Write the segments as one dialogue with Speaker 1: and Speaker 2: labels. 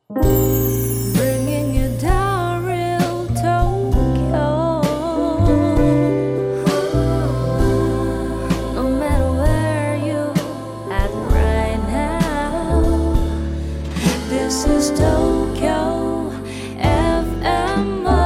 Speaker 1: Bringing you down real Tokyo. No matter where you at right now, this is Tokyo FMO.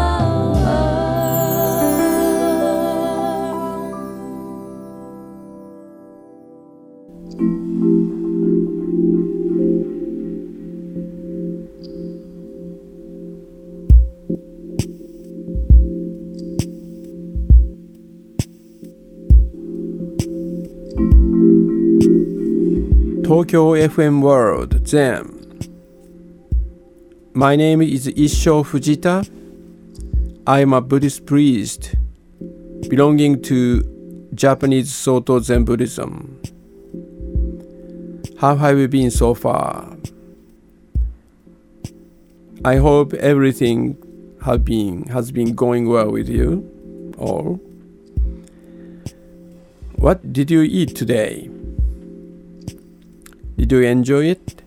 Speaker 2: Tokyo FM World Zen. My name is Issho Fujita. I am a Buddhist priest belonging to Japanese Soto Zen Buddhism. How have you been so far? I hope everything has been going well with you all. What did you eat today? Did you enjoy it?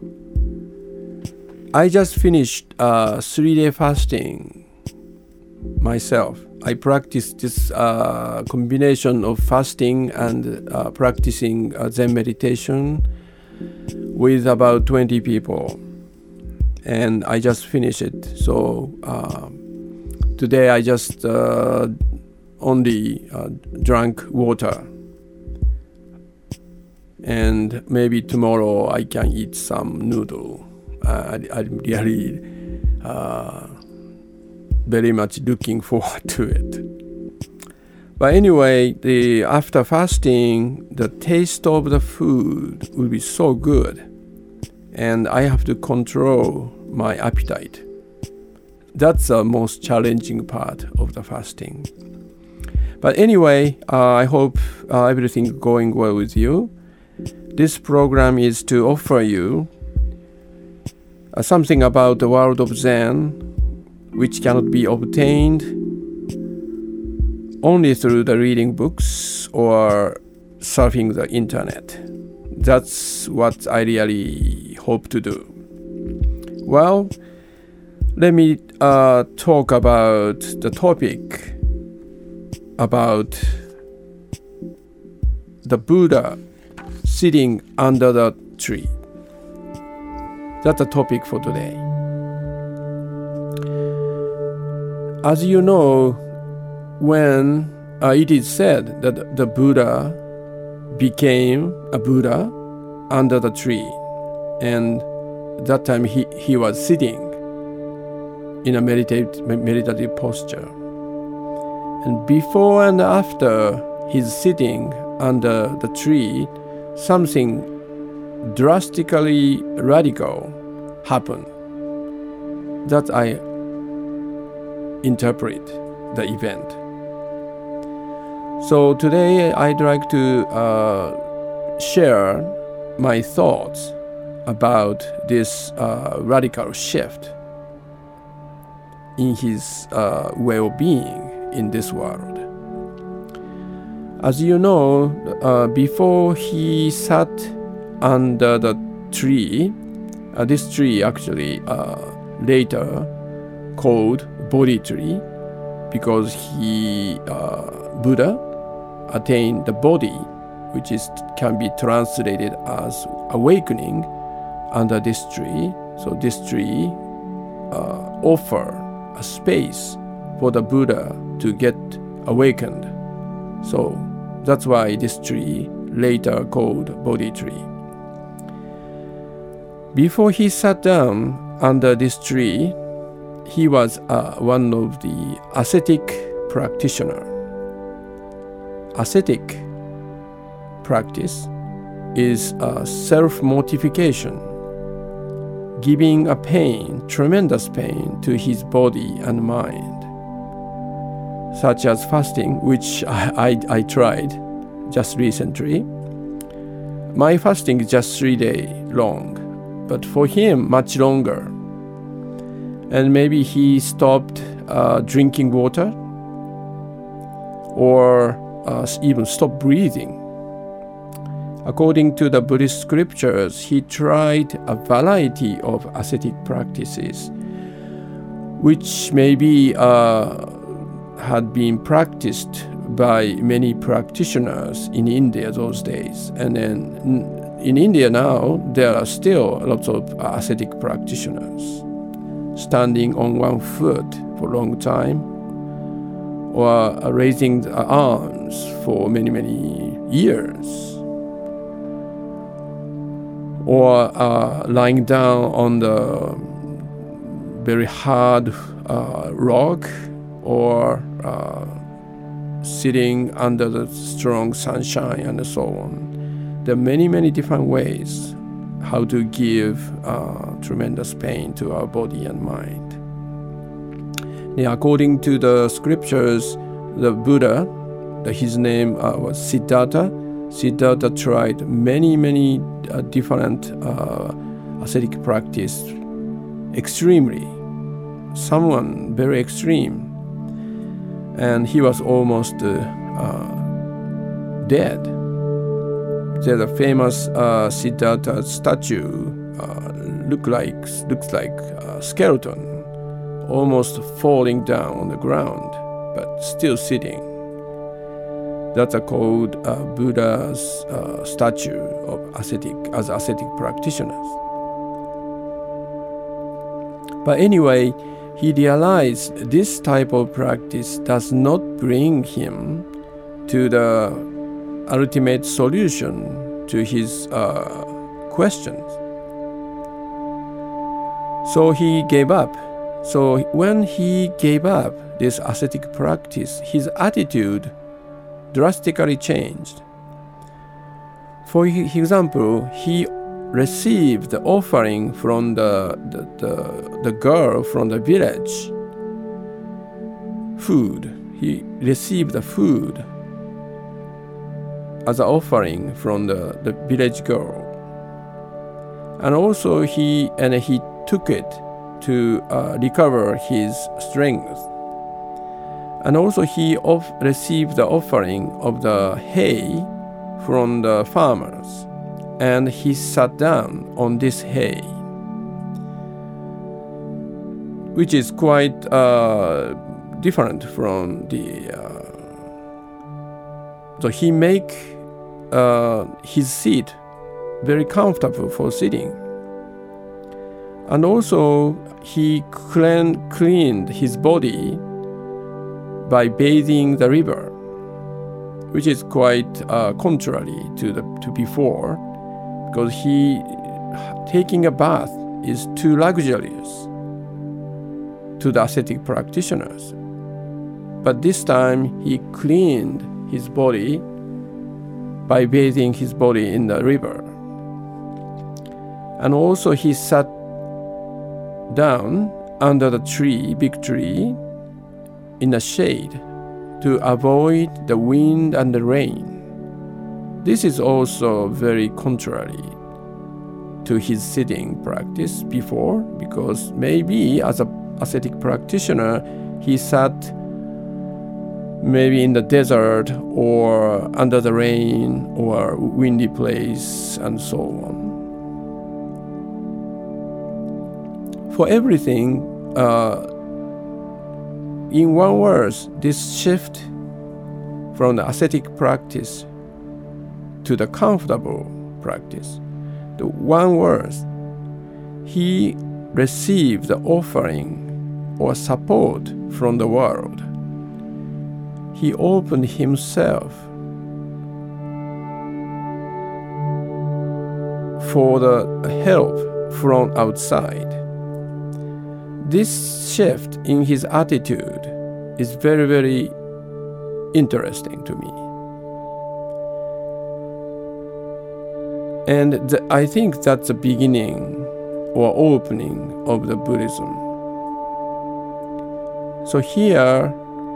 Speaker 2: I just finished a 3-day fasting myself. I practiced this combination of fasting and practicing Zen meditation with about 20 people. And I just finished it. So today I just only drank water. And maybe tomorrow I can eat some noodle. I'm really very much looking forward to it. But anyway, after fasting, the taste of the food will be so good. And I have to control my appetite. That's the most challenging part of the fasting. But anyway, I hope everything is going well with you. This program is to offer you something about the world of Zen which cannot be obtained only through the reading books or surfing the internet. That's what I really hope to do. Well, let me talk about the topic about the Buddha sitting under the tree. That's the topic for today. As you know, when it is said that the Buddha became a Buddha under the tree, and that time he was sitting in a meditative posture. And before and after his sitting under the tree, something drastically radical happened. That I interpret the event. So today I'd like to share my thoughts about this radical shift in his well-being in this world. As you know, before he sat under the tree, this tree actually later called Bodhi tree, because Buddha attained the Bodhi, which can be translated as awakening under this tree. So this tree offer a space for the Buddha to get awakened. So that's why this tree later called Bodhi tree. Before he sat down under this tree, he was one of the ascetic practitioner. Ascetic practice is self-mortification, giving a pain, tremendous pain to his body and mind, such as fasting, which I tried just recently. My fasting is just 3 days long, but for him, much longer. And maybe he stopped drinking water or even stopped breathing According to the Buddhist scriptures, he tried a variety of ascetic practices, which maybe had been practiced by many practitioners in India those days. And then in India now, there are still lots of ascetic practitioners, standing on one foot for a long time, or raising the arms for many, many years, or lying down on the very hard rock, or sitting under the strong sunshine, and so on. There are many, many different ways how to give tremendous pain to our body and mind. Now, according to the scriptures, the Buddha, his name was Siddhartha. Siddhartha tried many, many different ascetic practice extremely. Someone very extreme. And he was almost dead. There's a famous Siddhartha statue, looks like a skeleton, almost falling down on the ground, but still sitting. That's called Buddha's statue of ascetic practitioners. But anyway, he realized this type of practice does not bring him to the ultimate solution to his questions. So he gave up. So when he gave up this ascetic practice, his attitude drastically changed. For example, he received the offering from the girl from the village. Food. He received the food as an offering from the village girl. And also he took it to recover his strength. And also he received the offering of the hay from the farmers, and he sat down on this hay, which is quite different from the. So he make his seat very comfortable for sitting, and also he cleaned his body by bathing the river, which is quite contrary to before, because taking a bath is too luxurious to the ascetic practitioners. But this time he cleaned his body by bathing his body in the river. And also he sat down under the big tree, in the shade, to avoid the wind and the rain. This is also very contrary to his sitting practice before, because maybe as an ascetic practitioner, he sat maybe in the desert or under the rain or windy place and so on. For everything, in one word, this shift from the ascetic practice to the comfortable practice, the one word, he received the offering or support from the world. He opened himself for the help from outside. This shift in his attitude is very, very interesting to me. And I think that's the beginning or opening of the Buddhism. So here,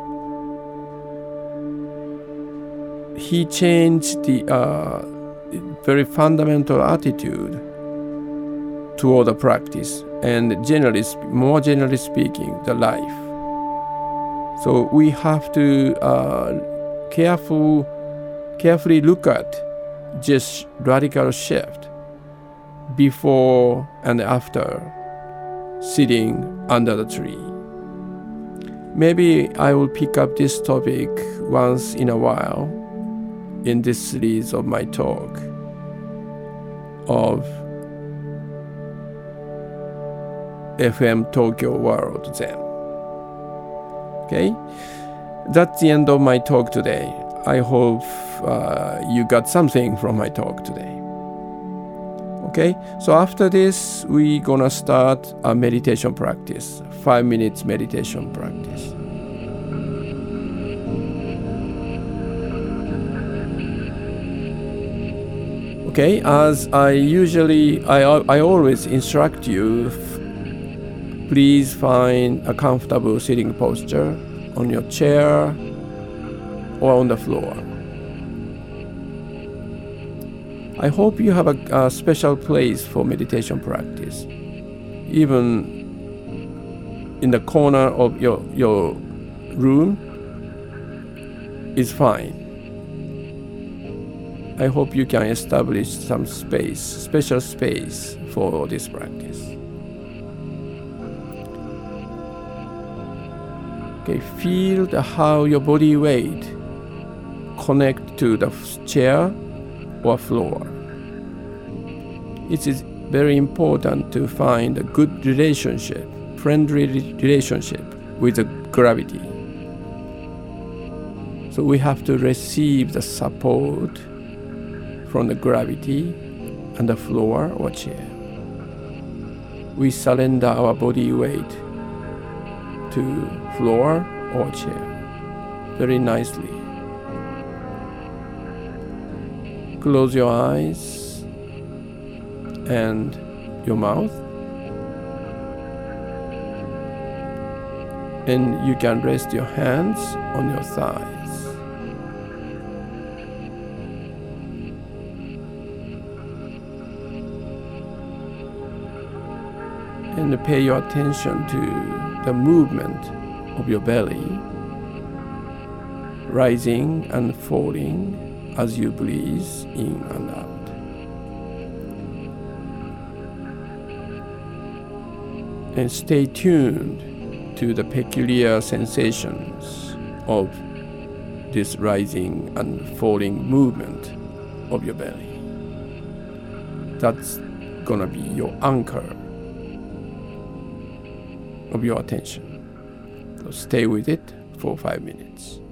Speaker 2: he changed the very fundamental attitude toward the practice, and more generally speaking, the life. So we have to carefully look at just radical shift before and after sitting under the tree. Maybe I will pick up this topic once in a while in this series of my talk of FM Tokyo World Zen. Okay? That's the end of my talk today. I hope you got something from my talk today. Okay? So after this, we're gonna start a meditation practice. 5 minutes meditation practice. Okay, as I always instruct you, please find a comfortable sitting posture on your chair or on the floor. I hope you have a special place for meditation practice. Even in the corner of your room is fine. I hope you can establish some space, special space for this practice. Okay, feel how your body weight connect to the chair or floor. It is very important to find a good relationship, friendly relationship with the gravity. So we have to receive the support from the gravity and the floor or chair. We surrender our body weight to floor or chair very nicely. Close your eyes and your mouth, and you can rest your hands on your thighs. And pay your attention to the movement of your belly, rising and falling as you breathe in and out. And stay tuned to the peculiar sensations of this rising and falling movement of your belly. That's gonna be your anchor of your attention. So stay with it for 5 minutes.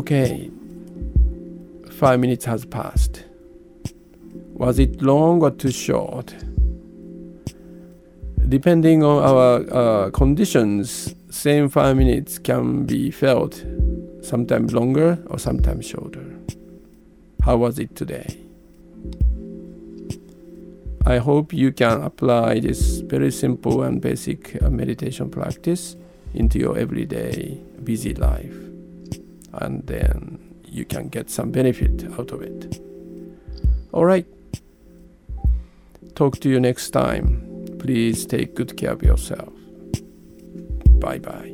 Speaker 2: Okay, 5 minutes has passed. Was it long or too short? Depending on our conditions, same 5 minutes can be felt sometimes longer or sometimes shorter. How was it today? I hope you can apply this very simple and basic meditation practice into your everyday busy life, and then you can get some benefit out of it. All right. Talk to you next time. Please take good care of yourself. Bye-bye.